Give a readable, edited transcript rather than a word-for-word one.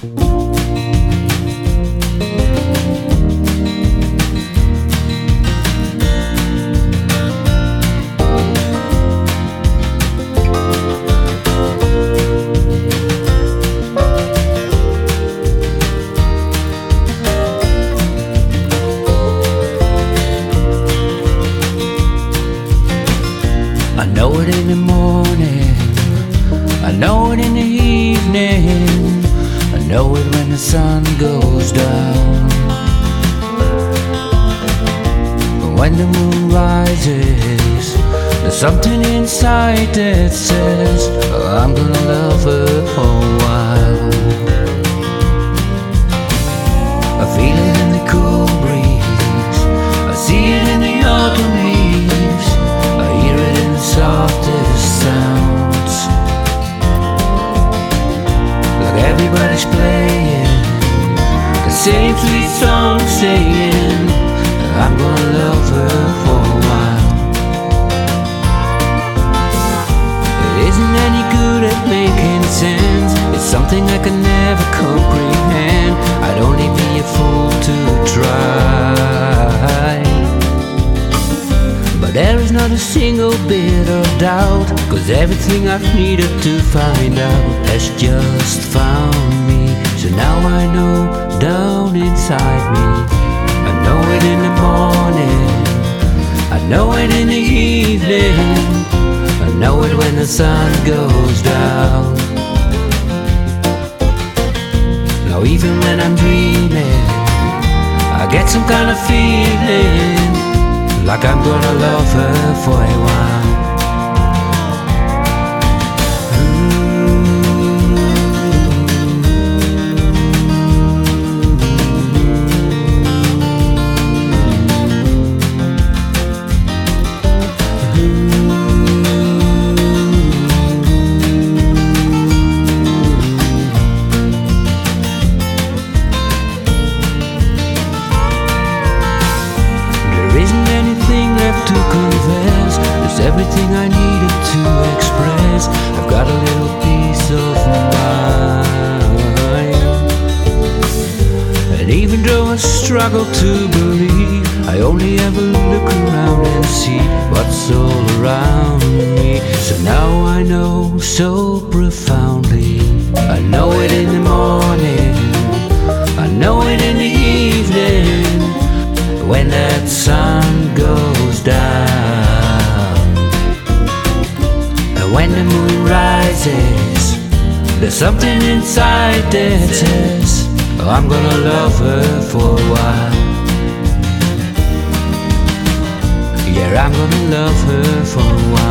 I know it in the morning, I know it in the evening, I know it when the sun goes down. But when the moon rises, there's something inside that says, oh, I'm gonna love her for a while. I feel it in the cool breeze, I see it in the autumn leaves, I hear it in the softest sounds. Like everybody's playing the same sweet song, saying I'm gonna love her for a while. It isn't any good at making sense, it's something I can never comprehend. I'd only be a fool to try. But there is not a single bit of doubt, 'cause everything I've needed to find out has just found me. So now I know down inside me, I know it in the morning, I know it in the evening, I know it when the sun goes down. Now even when I'm dreaming, I get some kind of feeling like I'm gonna love her for a while. To confess, there's everything I needed to express. I've got a little peace of mind. And even though I struggle to believe, I only ever look around and see what's all around me. So now I know so profoundly, I know it in the morning, I know it in the evening, when that sun goes down. And when the moon rises, there's something inside that says, oh, I'm gonna love her for a while. Yeah, I'm gonna love her for a while.